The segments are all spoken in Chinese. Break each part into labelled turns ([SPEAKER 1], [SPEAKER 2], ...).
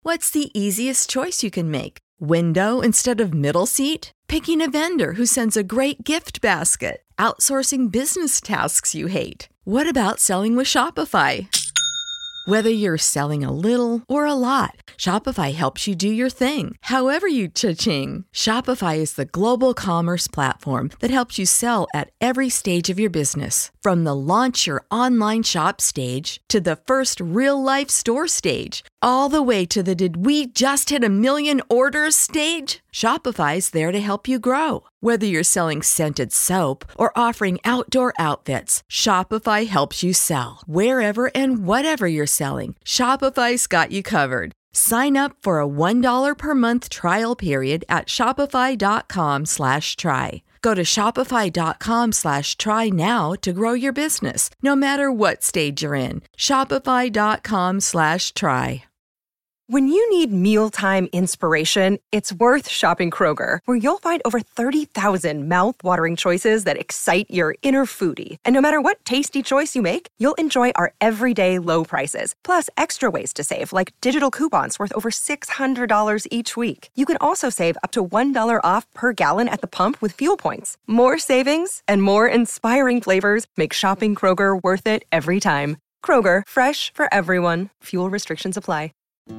[SPEAKER 1] What's the easiest choice you can make? Window instead of middle seat? Picking a vendor who sends a great gift basket? Outsourcing business tasks you hate? What about selling with Shopify? Whether you're selling a little or a lot, Shopify helps you do your thing, however you cha-ching. Shopify is the global commerce platform that helps you sell at every stage of your business. From the launch your online shop stage to the first real-life store stage, all the way to the did we just hit a million orders stage? Shopify's there to help you grow. Whether you're selling scented soap or offering outdoor outfits, Shopify helps you sell. Wherever and whatever you're selling, Shopify's got you covered. Sign up for a $1 per month trial period at shopify.com/try. Go to shopify.com/try now to grow your business, no matter what stage you're in. Shopify.com/try.
[SPEAKER 2] When you need mealtime inspiration, it's worth shopping Kroger, where you'll find over 30,000 mouth-watering choices that excite your inner foodie. And no matter what tasty choice you make, you'll enjoy our everyday low prices, plus extra ways to save, like digital coupons worth over $600 each week. You can also save up to $1 off per gallon at the pump with fuel points. More savings and more inspiring flavors make shopping Kroger worth it every time. Kroger, fresh for everyone. Fuel restrictions apply.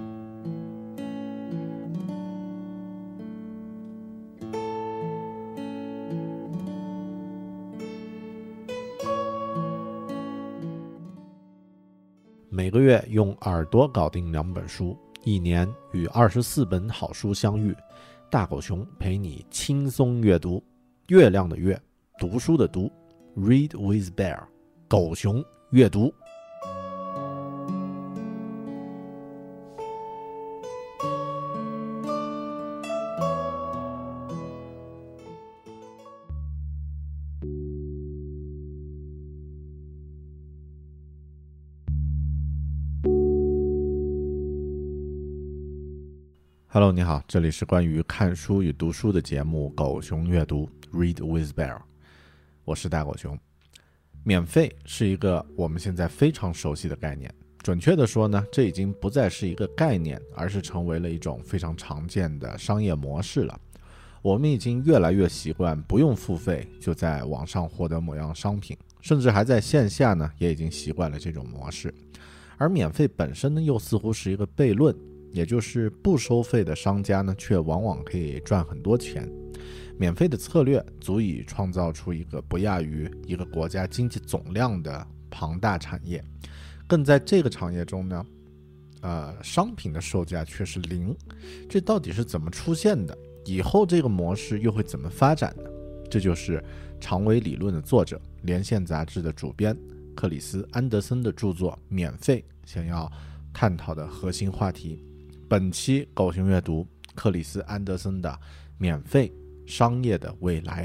[SPEAKER 3] 每个月用耳朵搞定2本书，一年与24本好书相遇。大狗熊陪你轻松阅读。月亮的月，读书的读 ，Read with Bear， 狗熊阅读。Hello， 你好，这里是关于看书与读书的节目《狗熊阅读》Read with Bear， 我是大狗熊。免费是一个我们现在非常熟悉的概念，准确的说呢，这已经不再是一个概念，而是成为了一种非常常见的商业模式了。我们已经越来越习惯不用付费就在网上获得某样商品，甚至还在线下呢，也已经习惯了这种模式。而免费本身呢，又似乎是一个悖论。也就是不收费的商家呢，却往往可以赚很多钱。免费的策略足以创造出一个不亚于一个国家经济总量的庞大产业，更在这个产业中呢，商品的售价却是0。这到底是怎么出现的？以后这个模式又会怎么发展呢？这就是长尾理论的作者、连线杂志的主编克里斯·安德森的著作《免费》想要探讨的核心话题。本期狗熊阅读克里斯·安德森的免费商业的未来。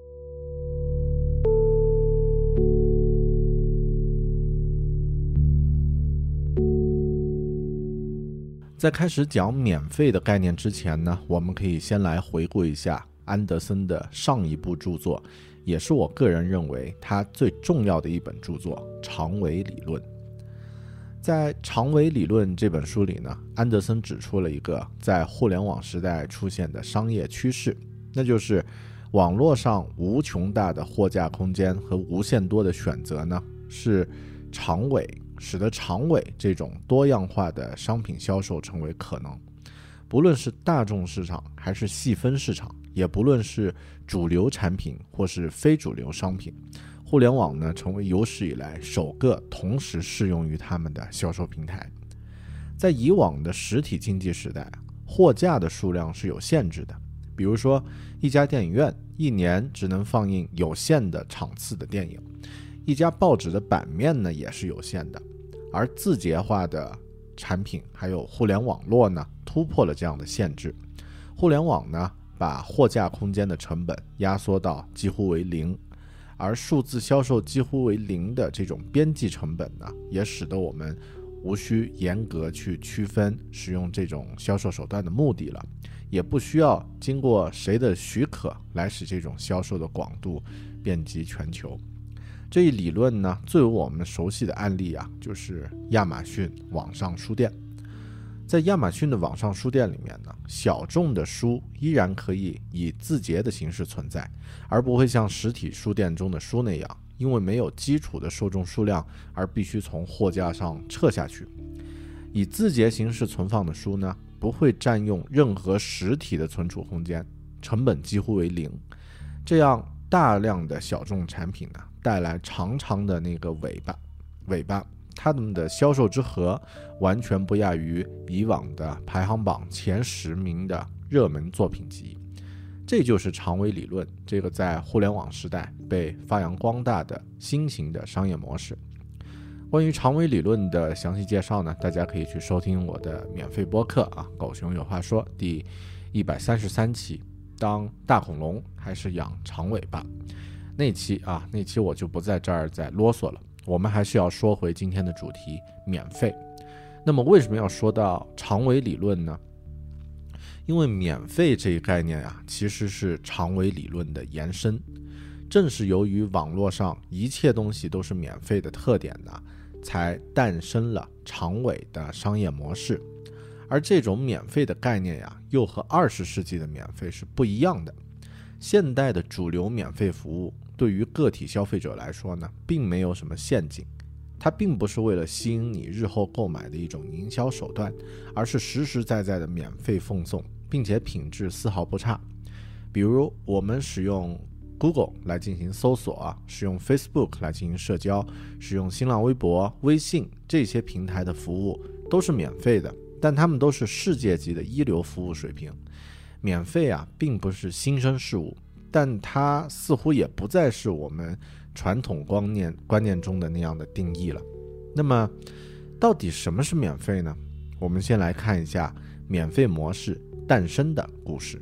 [SPEAKER 3] 在开始讲免费的概念之前呢，我们可以先来回顾一下安德森的上一部著作，也是我个人认为他最重要的一本著作《长尾理论》。在《长尾理论》这本书里呢，安德森指出了一个在互联网时代出现的商业趋势，那就是网络上无穷大的货架空间和无限多的选择呢，是使得长尾这种多样化的商品销售成为可能。不论是大众市场还是细分市场，也不论是主流产品或是非主流商品，互联网呢成为有史以来首个同时适用于他们的销售平台。在以往的实体经济时代，货架的数量是有限制的，比如说一家电影院一年只能放映有限的场次的电影，一家报纸的版面呢也是有限的。而字节化的产品还有互联网络呢突破了这样的限制。互联网呢把货架空间的成本压缩到几乎为0，而数字销售几乎为0的这种边际成本呢，也使得我们无需严格去区分使用这种销售手段的目的了，也不需要经过谁的许可来使这种销售的广度遍及全球。这一理论呢，最为我们熟悉的案例啊，就是亚马逊网上书店。 在亚马逊的网上书店里面呢，小众的书依然可以以字节的形式存在，而不会像实体书店中的书那样，因为没有基础的受众数量而必须从货架上撤下去。以字节形式存放的书呢，不会占用任何实体的存储空间，成本几乎为零。这样大量的小众产品呢，带来长长的那个尾巴，它们的销售之和完全不亚于以往的排行榜前10名的热门作品集。这就是长尾理论，这个在互联网时代被发扬光大的新型的商业模式。关于长尾理论的详细介绍呢，大家可以去收听我的免费播客啊，狗熊有话说第133期，当大恐龙还是养长尾巴那期我就不在这儿再啰嗦了。我们还是要说回今天的主题，免费。那么为什么要说到长尾理论呢？因为免费这一概念其实是长尾理论的延伸。正是由于网络上一切东西都是免费的特点呢，才诞生了长尾的商业模式。而这种免费的概念又和20世纪的免费是不一样的。现代的主流免费服务对于个体消费者来说呢，并没有什么陷阱，它并不是为了吸引你日后购买的一种营销手段，而是实实在在的免费奉送，并且品质丝毫不差。比如我们使用 Google 来进行搜索，使用 Facebook 来进行社交，使用新浪微博、微信这些平台的服务都是免费的，但它们都是世界级的一流服务水平。免费并不是新生事物，但它似乎也不再是我们传统观念中的那样的定义了。那么到底什么是免费呢？我们先来看一下免费模式诞生的故事。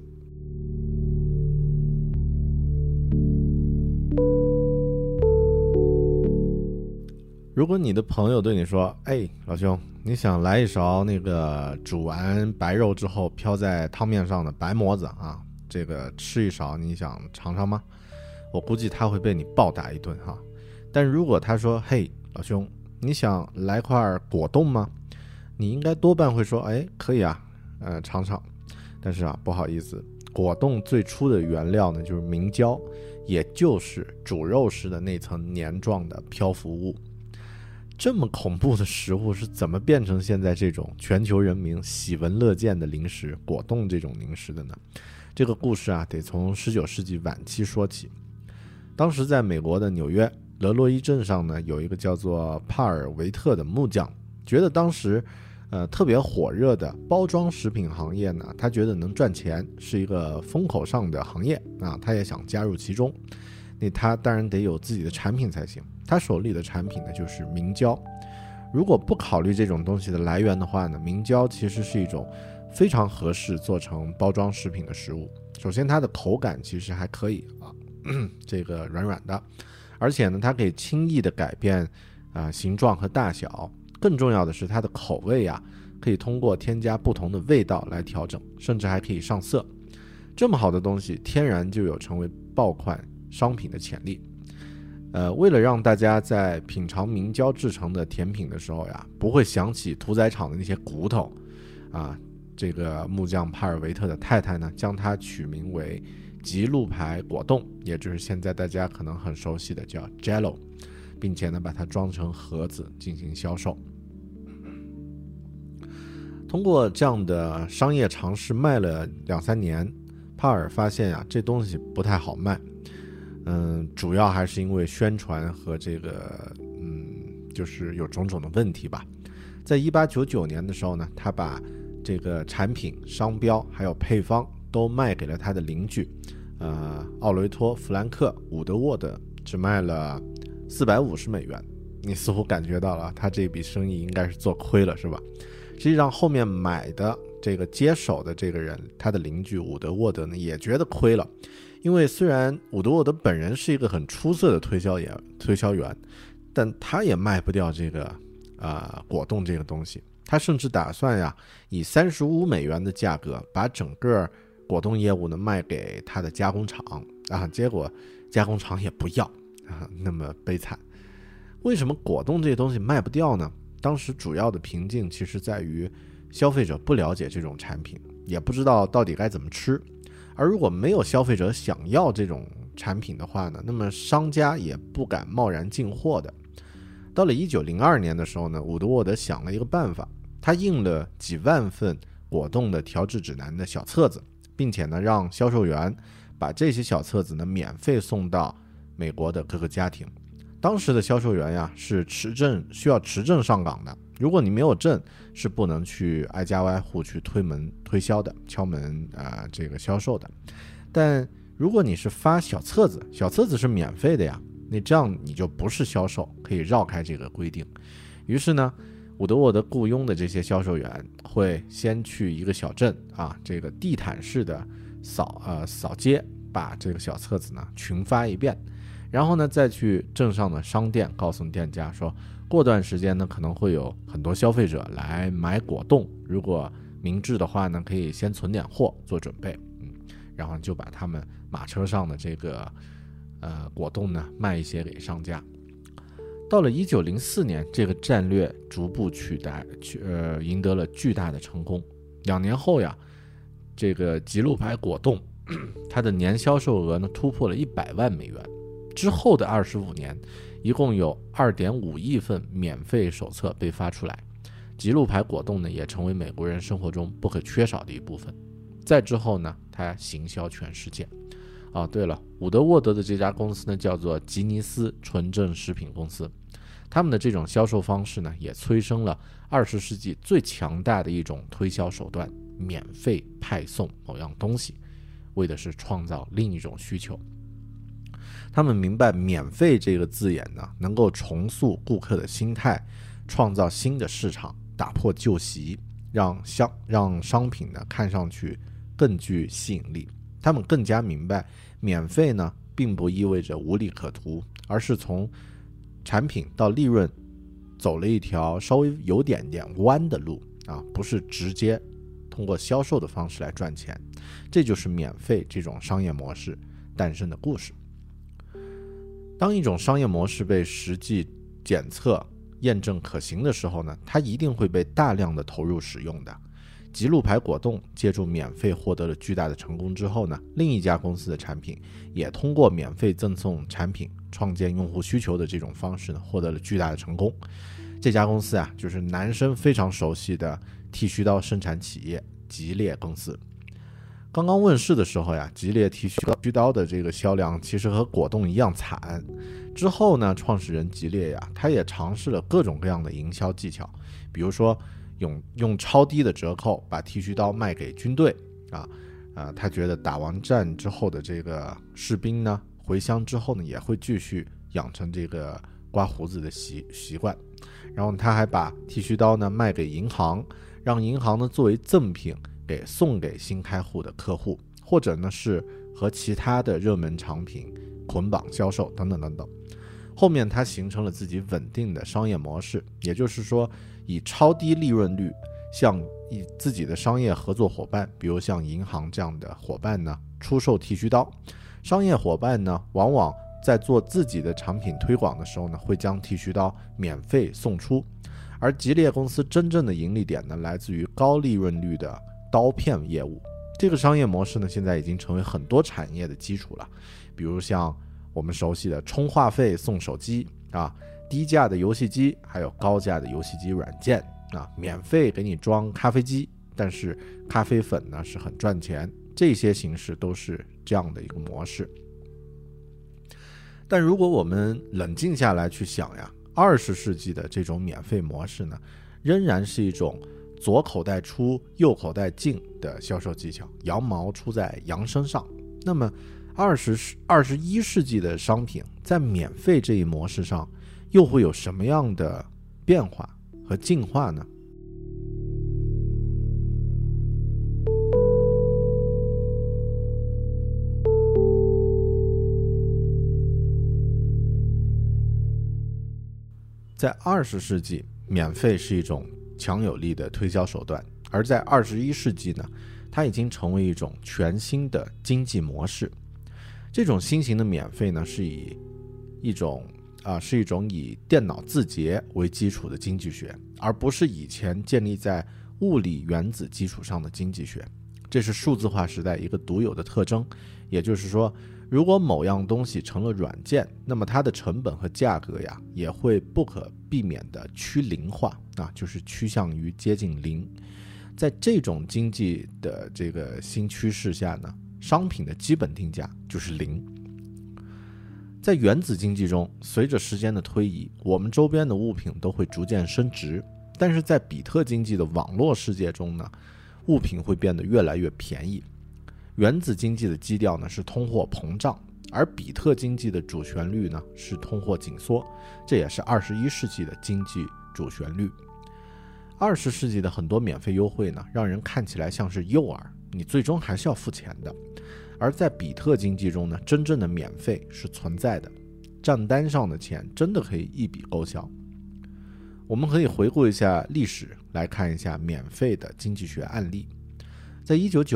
[SPEAKER 3] 如果你的朋友对你说，老兄，你想来一勺那个煮完白肉之后飘在汤面上的白馍子这个吃一勺，你想尝尝吗？我估计他会被你暴打一顿但如果他说，老兄，你想来块果冻吗？你应该多半会说，可以尝尝。但是不好意思，果冻最初的原料呢，就是明胶，也就是煮肉时的那层黏状的漂浮物。这么恐怖的食物是怎么变成现在这种全球人民喜闻乐见的零食果冻这种零食的呢？这个故事得从19世纪晚期说起。当时在美国的纽约勒洛伊镇上呢，有一个叫做帕尔维特的木匠，觉得当时特别火热的包装食品行业呢，他觉得能赚钱，是一个风口上的行业他也想加入其中。那他当然得有自己的产品才行，他手里的产品呢就是明胶。如果不考虑这种东西的来源的话呢，明胶其实是一种非常合适做成包装食品的食物。首先它的口感其实还可以这个软软的，而且呢它可以轻易的改变形状和大小。更重要的是它的口味可以通过添加不同的味道来调整，甚至还可以上色。这么好的东西天然就有成为爆款商品的潜力。为了让大家在品尝明胶制成的甜品的时候不会想起屠宰场的那些骨头这个木匠帕尔维特的太太呢，将它取名为吉路牌果冻，也就是现在大家可能很熟悉的叫 Jello， 并且呢把它装成盒子进行销售。通过这样的商业尝试卖了2-3年，帕尔发现这东西不太好卖。主要还是因为宣传和这个就是有种种的问题吧。在1899年的时候呢，他把这个产品、商标还有配方都卖给了他的邻居奥雷托·弗兰克·伍德沃德，只卖了$450。你似乎感觉到了他这笔生意应该是做亏了，是吧？实际上后面买的这个接手的这个人，他的邻居伍德沃德呢也觉得亏了。因为虽然伍德沃德本人是一个很出色的推销员，但他也卖不掉这个果冻这个东西。他甚至打算以$35的价格把整个果冻业务呢卖给他的加工厂结果加工厂也不要那么悲惨。为什么果冻这些东西卖不掉呢？当时主要的瓶颈其实在于消费者不了解这种产品，也不知道到底该怎么吃。而如果没有消费者想要这种产品的话呢，那么商家也不敢贸然进货的。到了1902年的时候呢，伍德沃德想了一个办法，他印了几万份果冻的调制指南的小册子，并且呢让销售员把这些小册子呢免费送到美国的各个家庭。当时的销售员呀是需要持证上岗的，如果你没有证，是不能去挨家挨户去推门推销的，敲门这个销售的。但如果你是发小册子，小册子是免费的呀，那这样你就不是销售，可以绕开这个规定。于是呢，伍德沃德雇佣的这些销售员会先去一个小镇这个地毯式的扫街，把这个小册子呢群发一遍，然后呢再去镇上的商店告诉店家说，过段时间呢可能会有很多消费者来买果冻，如果明智的话呢，可以先存点货做准备。然后就把他们马车上的这个果冻呢卖一些给商家。到了1904年，这个战略逐步赢得了巨大的成功。2年后呀，这个吉路牌果冻它的年销售额呢突破了100万美元。之后的25年，一共有 2.5 亿份免费手册被发出来，吉路牌果冻呢也成为美国人生活中不可缺少的一部分。再之后呢，它行销全世界。对了，伍德沃德的这家公司呢叫做吉尼斯纯正食品公司，他们的这种销售方式呢也催生了20世纪最强大的一种推销手段，免费派送某样东西，为的是创造另一种需求。他们明白免费这个字眼呢能够重塑顾客的心态，创造新的市场，打破旧习，让商品呢看上去更具吸引力。他们更加明白免费呢并不意味着无利可图，而是从产品到利润走了一条稍微有点弯的路不是直接通过销售的方式来赚钱。这就是免费这种商业模式诞生的故事。当一种商业模式被实际检测验证可行的时候呢，它一定会被大量的投入使用的。吉路牌果冻借助免费获得了巨大的成功之后呢，另一家公司的产品也通过免费赠送产品创建用户需求的这种方式呢，获得了巨大的成功。这家公司就是男生非常熟悉的剃须刀生产企业吉列公司。刚刚问世的时候吉列剃须刀的这个销量其实和果冻一样惨。之后呢，创始人吉列他也尝试了各种各样的营销技巧，比如说用超低的折扣把剃须刀卖给军队他觉得打完战之后的这个士兵呢，回乡之后呢也会继续养成这个刮胡子的习惯。然后他还把剃须刀呢卖给银行，让银行呢作为赠品送给新开户的客户，或者呢是和其他的热门产品捆绑销售等等等等。后面他形成了自己稳定的商业模式，也就是说以超低利润率向以自己的商业合作伙伴，比如像银行这样的伙伴呢出售剃须刀。商业伙伴呢往往在做自己的产品推广的时候呢，会将剃须刀免费送出。而吉列公司真正的盈利点呢，来自于高利润率的刀片业务。这个商业模式呢，现在已经成为很多产业的基础了，比如像我们熟悉的充话费送手机低价的游戏机，还有高价的游戏机软件免费给你装咖啡机，但是咖啡粉呢是很赚钱。这些形式都是这样的一个模式。但如果我们冷静下来去想20世纪的这种免费模式呢，仍然是一种左口袋出右口袋进的销售技巧，羊毛出在羊身上。那么21世纪的商品在免费这一模式上又会有什么样的变化和进化呢？在20世纪，免费是一种强有力的推销手段，而在21世纪呢，它已经成为一种全新的经济模式。这种新型的免费呢，是一种以电脑字节为基础的经济学，而不是以前建立在物理原子基础上的经济学，这是数字化时代一个独有的特征。也就是说，如果某样东西成了软件，那么它的成本和价格呀也会不可避免的趋零化就是趋向于接近零。在这种经济的这个新趋势下呢，商品的基本定价就是零。在原子经济中，随着时间的推移，我们周边的物品都会逐渐升值，但是在比特经济的网络世界中呢，物品会变得越来越便宜。原子经济的基调呢是通货膨胀，而比特经济的主旋律呢是通货紧缩，这也是21世纪的经济主旋律。20世纪的很多免费优惠呢，让人看起来像是诱饵，你最终还是要付钱的。而在比特经济中呢，真正的免费是存在的，账单上的钱真的可以一笔勾销。我们可以回顾一下历史，来看一下免费的经济学案例。在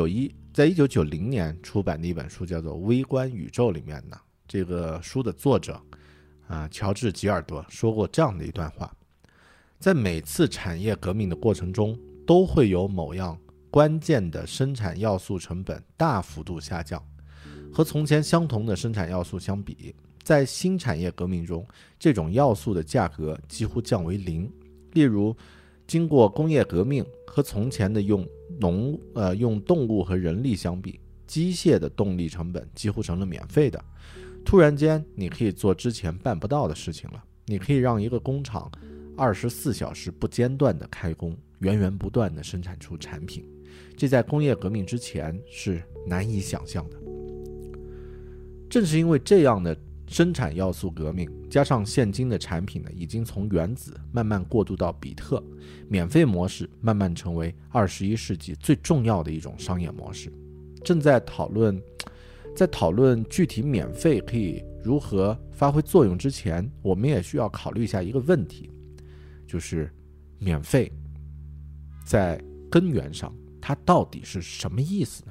[SPEAKER 3] 1990年出版的一本书叫做《微观宇宙》里面呢，这个书的作者乔治·吉尔德说过这样的一段话：在每次产业革命的过程中，都会有某样关键的生产要素成本大幅度下降，和从前相同的生产要素相比，在新产业革命中，这种要素的价格几乎降为零。例如，经过工业革命，和从前的用动物和人力相比，机械的动力成本几乎成了免费的。突然间，你可以做之前办不到的事情了。你可以让一个工厂24小时不间断的开工，源源不断的生产出产品，这在工业革命之前是难以想象的。正是因为这样的生产要素革命，加上现今的产品呢，已经从原子慢慢过渡到比特，免费模式慢慢成为21世纪最重要的一种商业模式。在讨论具体免费可以如何发挥作用之前，我们也需要考虑一下一个问题，就是免费在根源上它到底是什么意思呢？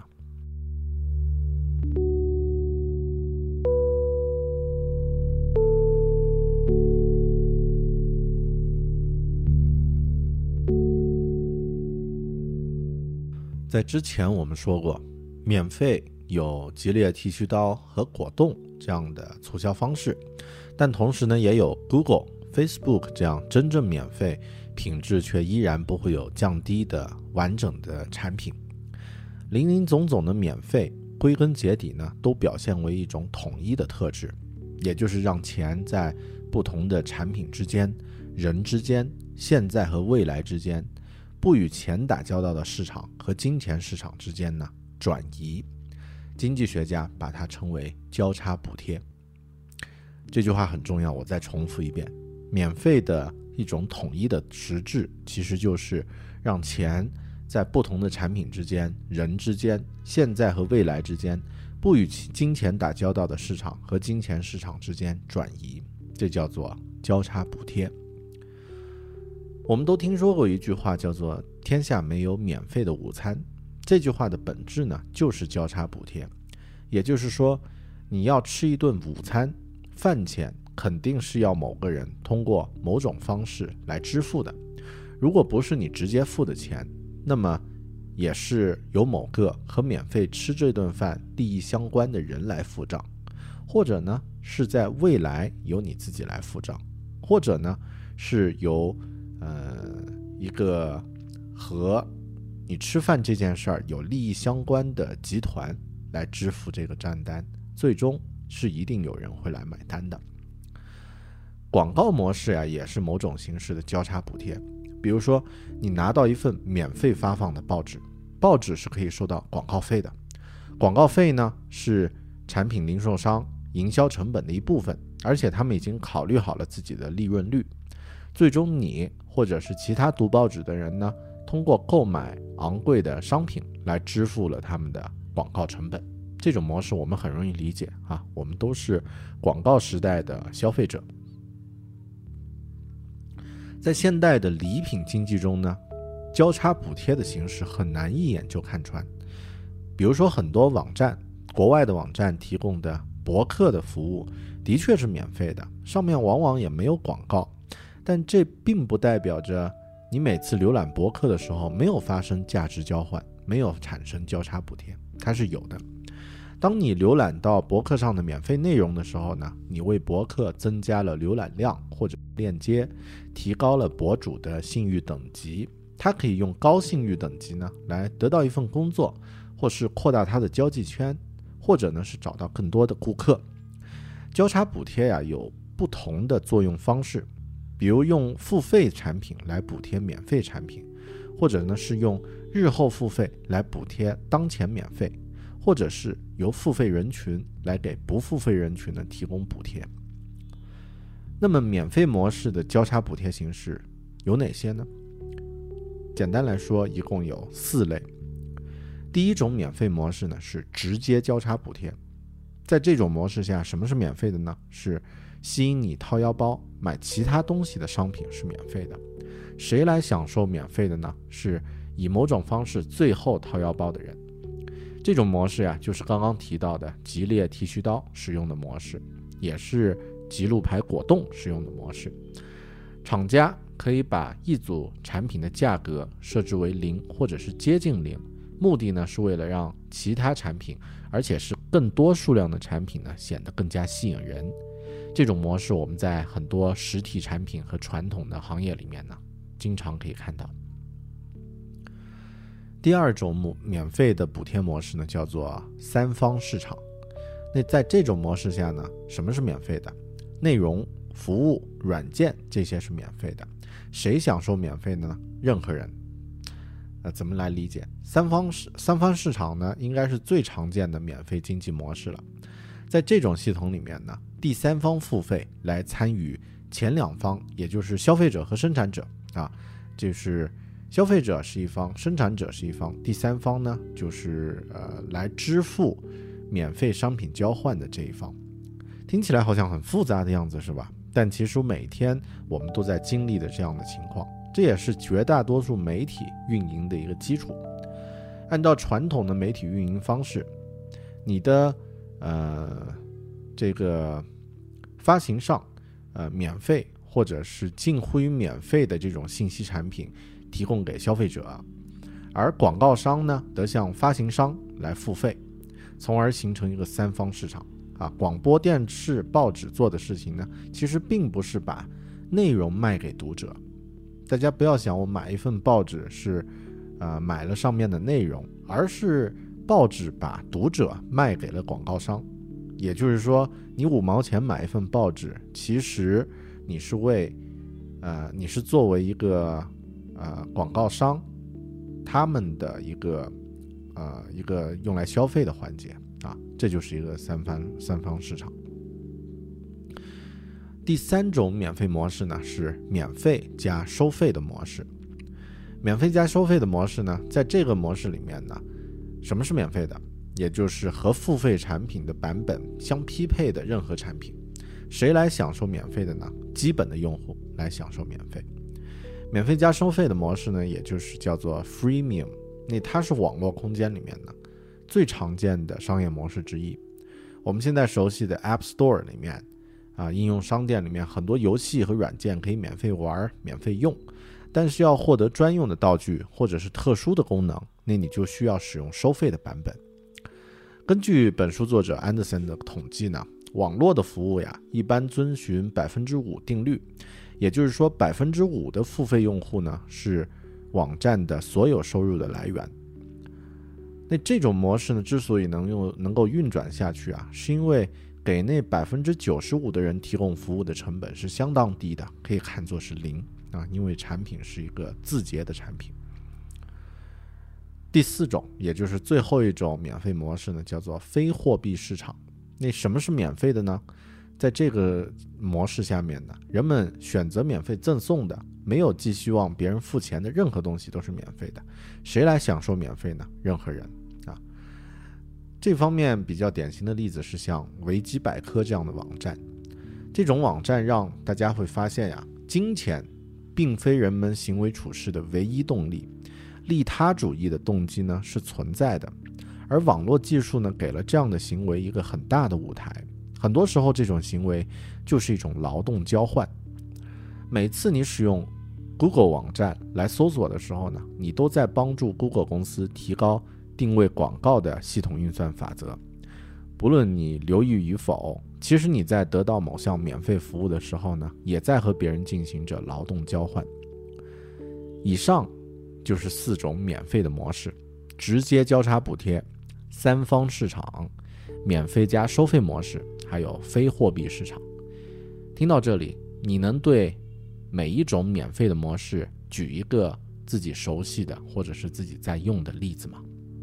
[SPEAKER 3] 在之前我们说过，免费有吉列剃须刀和果冻这样的促销方式，但同时呢，也有 Google、Facebook 这样真正免费，品质却依然不会有降低的完整的产品。林林总总的免费，归根结底呢，都表现为一种统一的特质，也就是让钱在不同的产品之间、人之间、现在和未来之间，不与钱打交道的市场和金钱市场之间呢转移。经济学家把它称为交叉补贴。这句话很重要，我再重复一遍，免费的一种统一的实质，其实就是让钱在不同的产品之间、人之间、现在和未来之间，不与金钱打交道的市场和金钱市场之间转移，这叫做交叉补贴。我们都听说过一句话叫做天下没有免费的午餐，这句话的本质呢就是交叉补贴。也就是说，你要吃一顿午餐，饭钱肯定是要某个人通过某种方式来支付的，如果不是你直接付的钱，那么也是由某个和免费吃这顿饭利益相关的人来付账，或者呢是在未来由你自己来付账，或者呢是由一个和你吃饭这件事儿有利益相关的集团来支付这个账单，最终是一定有人会来买单的。广告模式呀，也是某种形式的交叉补贴。比如说，你拿到一份免费发放的报纸，报纸是可以收到广告费的，广告费呢是产品零售商营销成本的一部分，而且他们已经考虑好了自己的利润率。最终你或者是其他读报纸的人呢，通过购买昂贵的商品来支付了他们的广告成本。这种模式我们很容易理解啊，我们都是广告时代的消费者。在现代的礼品经济中呢，交叉补贴的形式很难一眼就看穿。比如说很多网站，国外的网站提供的博客的服务的确是免费的，上面往往也没有广告，但这并不代表着你每次浏览博客的时候没有发生价值交换，没有产生交叉补贴，它是有的。当你浏览到博客上的免费内容的时候呢，你为博客增加了浏览量或者链接，提高了博主的信誉等级。他可以用高信誉等级呢来得到一份工作，或是扩大他的交际圈，或者呢是找到更多的顾客。交叉补贴呀有不同的作用方式，比如用付费产品来补贴免费产品，或者呢是用日后付费来补贴当前免费，或者是由付费人群来给不付费人群呢提供补贴。那么免费模式的交叉补贴形式有哪些呢？简单来说一共有4类。第一种免费模式呢是直接交叉补贴。在这种模式下，什么是免费的呢？是吸引你掏腰包买其他东西的商品是免费的。谁来享受免费的呢？是以某种方式最后掏腰包的人。这种模式呀，就是刚刚提到的吉列剃须刀使用的模式，也是吉路牌果冻使用的模式。厂家可以把一组产品的价格设置为0或者是接近0，目的呢是为了让其他产品，而且是更多数量的产品呢显得更加吸引人。这种模式我们在很多实体产品和传统的行业里面呢经常可以看到。第二种免费的补贴模式呢叫做三方市场。那在这种模式下呢，什么是免费的？内容、服务、软件这些是免费的。谁享受免费的呢？任何人。怎么来理解？三方市场呢，应该是最常见的免费经济模式了。在这种系统里面呢，第三方付费来参与前两方，也就是消费者和生产者啊，就是消费者是一方，生产者是一方，第三方呢就是来支付免费商品交换的这一方。听起来好像很复杂的样子是吧？但其实每天我们都在经历的这样的情况，这也是绝大多数媒体运营的一个基础。按照传统的媒体运营方式，你的这个发行上免费或者是近乎于免费的这种信息产品提供给消费者，而广告商呢得向发行商来付费，从而形成一个三方市场啊。广播电视报纸做的事情呢，其实并不是把内容卖给读者。大家不要想我买一份报纸是买了上面的内容，而是报纸把读者卖给了广告商。也就是说，你5毛钱买一份报纸，其实你是你是作为一个广告商他们的一个用来消费的环节啊，这就是一个三方市场。第三种免费模式呢是免费加收费的模式。免费加收费的模式呢，在这个模式里面呢，什么是免费的？也就是和付费产品的版本相匹配的任何产品。谁来享受免费的呢？基本的用户来享受免费。免费加收费的模式呢，也就是叫做 freemium， 那它是网络空间里面呢最常见的商业模式之一。我们现在熟悉的 App Store 里面应用商店里面很多游戏和软件可以免费玩、免费用，但是要获得专用的道具或者是特殊的功能，那你就需要使用收费的版本。根据本书作者安德森的统计呢，网络的服务呀，一般遵循 5% 定律，也就是说 5% 的付费用户呢，是网站的所有收入的来源。那这种模式呢，之所以能够运转下去是因为给那 95% 的人提供服务的成本是相当低的，可以看作是0因为产品是一个自结的产品。第四种，也就是最后一种免费模式呢，叫做非货币市场。那什么是免费的呢？在这个模式下面呢，人们选择免费赠送的，没有寄希望别人付钱的任何东西都是免费的。谁来享受免费呢？任何人这方面比较典型的例子是像维基百科这样的网站。这种网站让大家会发现金钱并非人们行为处事的唯一动力，利他主义的动机呢是存在的，而网络技术呢给了这样的行为一个很大的舞台。很多时候这种行为就是一种劳动交换。每次你使用 Google 网站来搜索的时候呢，你都在帮助 Google 公司提高定位广告的系统运算法则。不论你留意与否，其实你在得到某项免费服务的时候呢，也在和别人进行着劳动交换。以上就是4种免费的模式：直接交叉补贴、三方市场、免费加收费模式，还有非货币市场。听到这里，你能对每一种免费的模式举一个自己熟悉的或者是自己在用的例子吗？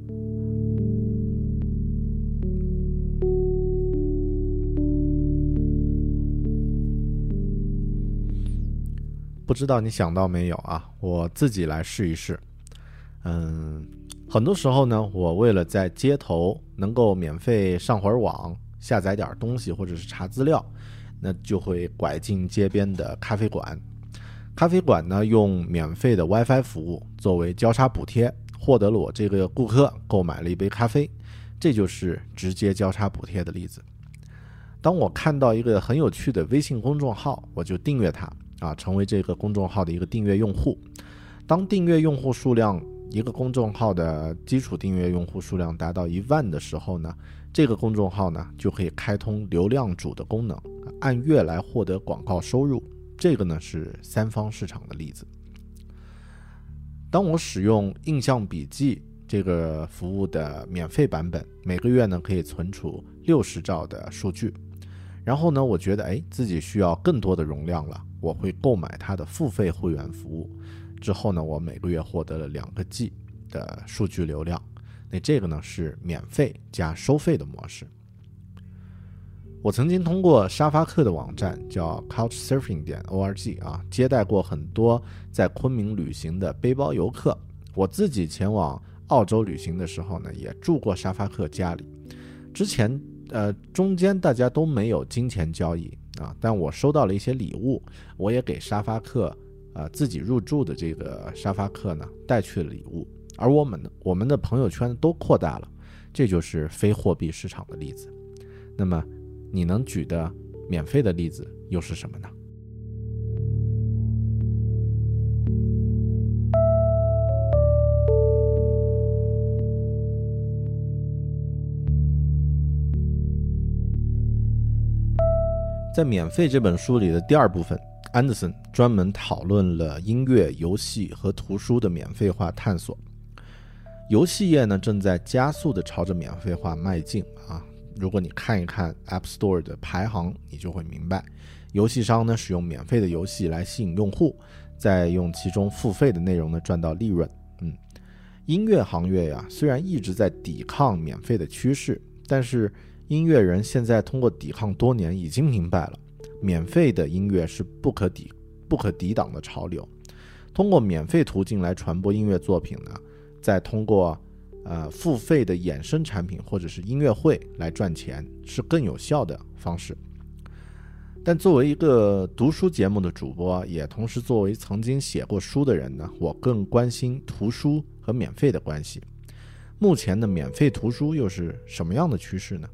[SPEAKER 3] 不知道你想到没有啊？我自己来试一试。很多时候呢，我为了在街头能够免费上会儿网，下载点东西或者是查资料，那就会拐进街边的咖啡馆。咖啡馆呢，用免费的 WiFi 服务作为交叉补贴，获得了我这个顾客购买了一杯咖啡，这就是直接交叉补贴的例子。当我看到一个很有趣的微信公众号，我就订阅它成为这个公众号的一个订阅用户。当订阅用户数量，一个公众号的基础订阅用户数量达到1万的时候呢，这个公众号呢就可以开通流量主的功能，按月来获得广告收入。这个呢是三方市场的例子。当我使用印象笔记这个服务的免费版本，每个月呢可以存储60兆的数据，然后呢我觉得自己需要更多的容量了，我会购买它的付费会员服务。之后呢，我每个月获得了2个 G 的数据流量。那这个呢是免费加收费的模式。我曾经通过沙发客的网站叫 couchsurfing.org 接待过很多在昆明旅行的背包游客。我自己前往澳洲旅行的时候呢，也住过沙发客家里。之前中间大家都没有金钱交易但我收到了一些礼物，我也给沙发客自己入住的这个沙发客呢带去了礼物，而我们的朋友圈都扩大了，这就是非货币市场的例子。那么你能举的免费的例子又是什么呢？在免费这本书里的第2部分，安德森专门讨论了音乐、游戏和图书的免费化探索。游戏业呢正在加速地朝着免费化迈进如果你看一看 App Store 的排行，你就会明白，游戏商呢使用免费的游戏来吸引用户，再用其中付费的内容呢赚到利润。音乐行业虽然一直在抵抗免费的趋势，但是音乐人现在通过抵抗多年，已经明白了免费的音乐是不可抵挡的潮流。通过免费途径来传播音乐作品呢，再通过付费的衍生产品或者是音乐会来赚钱，是更有效的方式。但作为一个读书节目的主播，也同时作为曾经写过书的人呢，我更关心图书和免费的关系。目前的免费图书又是什么样的趋势呢？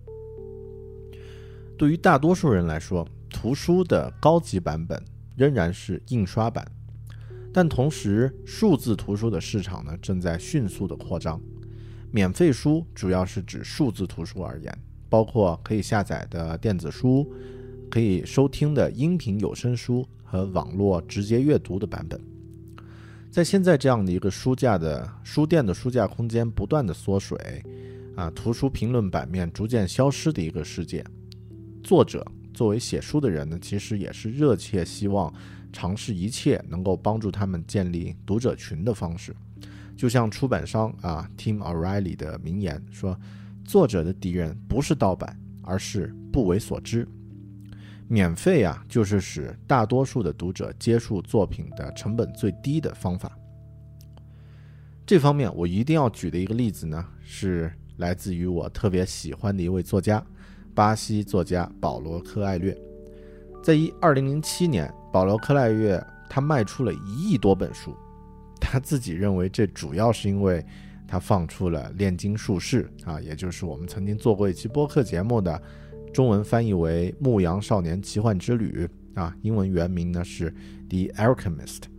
[SPEAKER 3] 对于大多数人来说，图书的高级版本仍然是印刷版，但同时数字图书的市场呢正在迅速的扩张。免费书主要是指数字图书而言，包括可以下载的电子书，可以收听的音频有声书和网络直接阅读的版本。在现在这样的一个书店的书架空间不断的缩水图书评论版面逐渐消失的一个世界，作者作为写书的人呢，其实也是热切希望尝试一切能够帮助他们建立读者群的方式。就像出版商Tim O'Reilly 的名言说，作者的敌人不是盗版，而是不为所知。免费就是使大多数的读者接触作品的成本最低的方法。这方面我一定要举的一个例子呢，是来自于我特别喜欢的一位作家，巴西作家保罗·科艾略。在2007年，保罗·科艾略他卖出了1亿多本书，他自己认为这主要是因为他放出了《炼金术士》也就是我们曾经做过一期播客节目的，中文翻译为《牧羊少年奇幻之旅》英文原名呢是《The Alchemist》。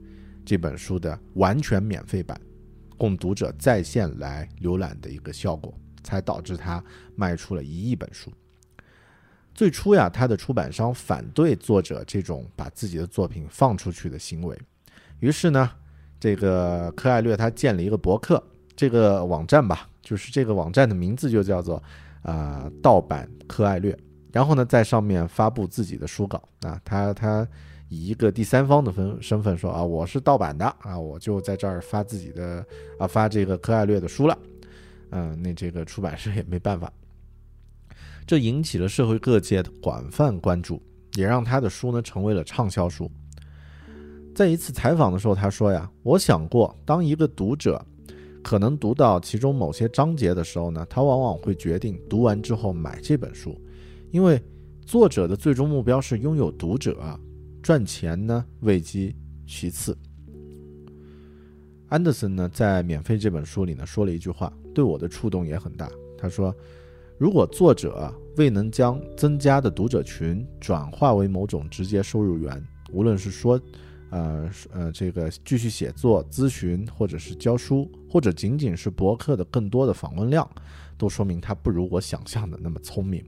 [SPEAKER 3] 这本书的完全免费版，供读者在线来浏览的一个效果，才导致他卖出了1亿本书。最初呀，他的出版商反对作者这种把自己的作品放出去的行为，于是呢，这个柯艾略他建了一个博客，这个网站吧，就是这个网站的名字就叫做盗版柯艾略，然后呢，在上面发布自己的书稿啊，他以一个第三方的身份说我是盗版的我就在这儿发自己的发这个柯艾略的书了，那这个出版社也没办法。这引起了社会各界的广泛关注，也让他的书呢成为了畅销书。在一次采访的时候，他说呀，我想过，当一个读者可能读到其中某些章节的时候呢，他往往会决定读完之后买这本书，因为作者的最终目标是拥有读者，赚钱呢位极其次。安德森呢在免费这本书里呢说了一句话，对我的触动也很大。他说，如果作者未能将增加的读者群转化为某种直接收入源，无论是说这个继续写作、咨询，或者是教书，或者仅仅是博客的更多的访问量，都说明他不如我想象的那么聪明。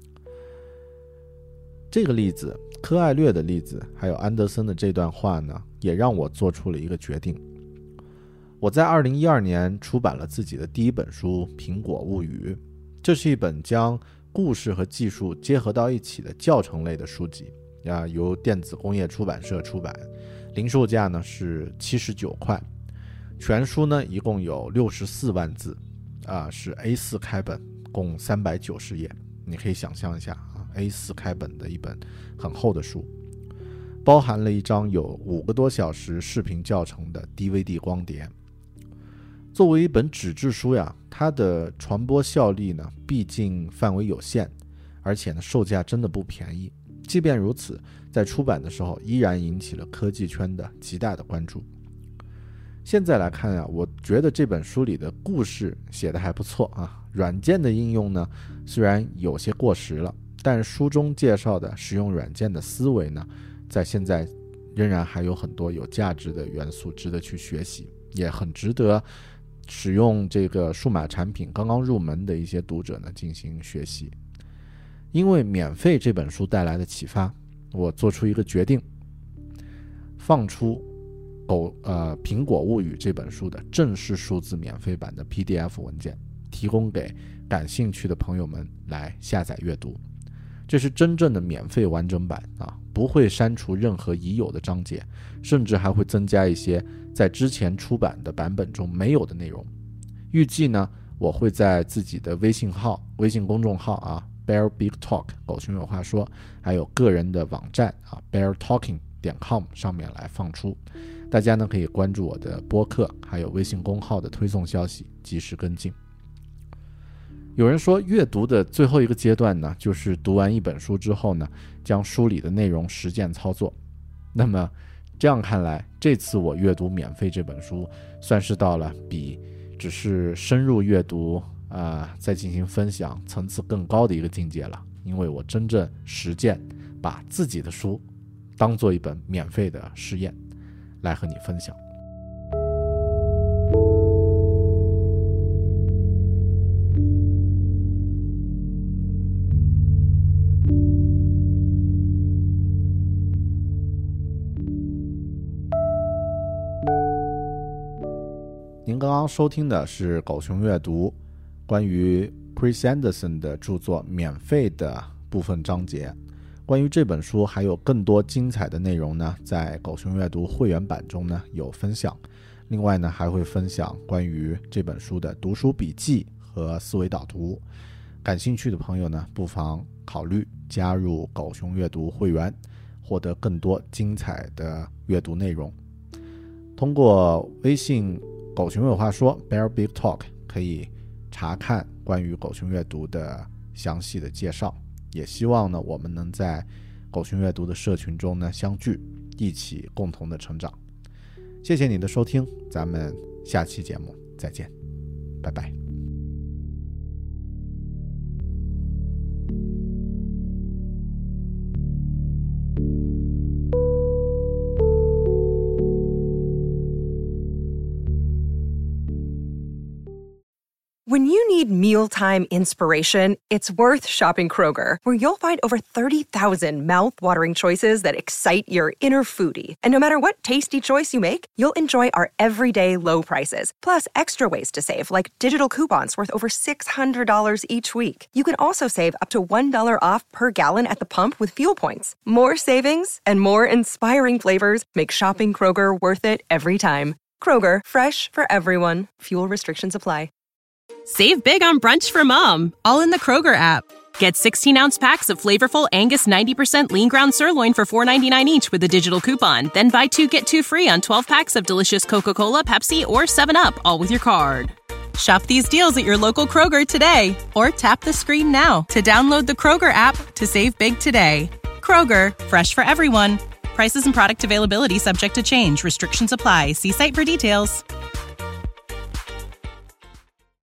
[SPEAKER 3] 这个例子，柯艾略的例子，还有安德森的这段话呢，也让我做出了一个决定。我在2012年出版了自己的第一本书《苹果物语》，这是一本将故事和技术结合到一起的教程类的书籍，由电子工业出版社出版，零售价呢是79块，全书呢一共有64万字，是 A4 开本，共390页。你可以想象一下A4 开本的一本很厚的书，包含了一张有5个多小时视频教程的 DVD 光碟。作为一本纸质书呀，它的传播效力呢，毕竟范围有限，而且呢，售价真的不便宜。即便如此，在出版的时候依然引起了科技圈的极大的关注。现在来看呀，我觉得这本书里的故事写得还不错软件的应用呢，虽然有些过时了，但书中介绍的使用软件的思维呢，在现在仍然还有很多有价值的元素值得去学习，也很值得使用这个数码产品刚刚入门的一些读者呢进行学习。因为免费这本书带来的启发，我做出一个决定，放出苹果物语这本书的正式数字免费版的 PDF 文件，提供给感兴趣的朋友们来下载阅读。这是真正的免费完整版不会删除任何已有的章节，甚至还会增加一些在之前出版的版本中没有的内容。预计呢，我会在自己的微信公众号Bear Big Talk 狗熊有话说，还有个人的网站beartalking.com 上面来放出。大家呢可以关注我的播客还有微信公号的推送消息，及时跟进。有人说阅读的最后一个阶段呢，就是读完一本书之后呢，将书里的内容实践操作。那么这样看来，这次我阅读免费这本书算是到了比只是深入阅读再进行分享层次更高的一个境界了，因为我真正实践把自己的书当做一本免费的试验来和你分享。您刚刚收听的是狗熊阅读关于 Chris Anderson 的著作免费的部分章节。关于这本书还有更多精彩的内容呢，在狗熊阅读会员版中呢有分享。另外呢，还会分享关于这本书的读书笔记和思维导图。感兴趣的朋友呢，不妨考虑加入狗熊阅读会员，获得更多精彩的阅读内容。通过微信狗熊有话说 Bear Big Talk 可以查看关于狗熊阅读的详细的介绍。也希望呢，我们能在狗熊阅读的社群中呢相聚，一起共同的成长。谢谢你的收听，咱们下期节目再见，拜拜。
[SPEAKER 2] need mealtime inspiration, it's worth shopping Kroger, where you'll find over 30,000 mouth-watering choices that excite your inner foodie. And no matter what tasty choice you make, you'll enjoy our everyday low prices, plus extra ways to save, like digital coupons worth over $600 each week. You can also save up to $1 off per gallon at the pump with fuel points. More savings and more inspiring flavors make shopping Kroger worth it every time. Kroger, fresh for everyone. Fuel restrictions apply.
[SPEAKER 4] Save big on brunch for mom, all in the Kroger app. Get 16-ounce packs of flavorful Angus 90% lean ground sirloin for $4.99 each with a digital coupon. Then buy 2, get 2 free on 12 packs of delicious Coca-Cola, Pepsi, or 7-Up, all with your card. Shop these deals at your local Kroger today, or tap the screen now to download the Kroger app to save big today. Kroger, fresh for everyone. Prices and product availability subject to change. Restrictions apply. See site for details.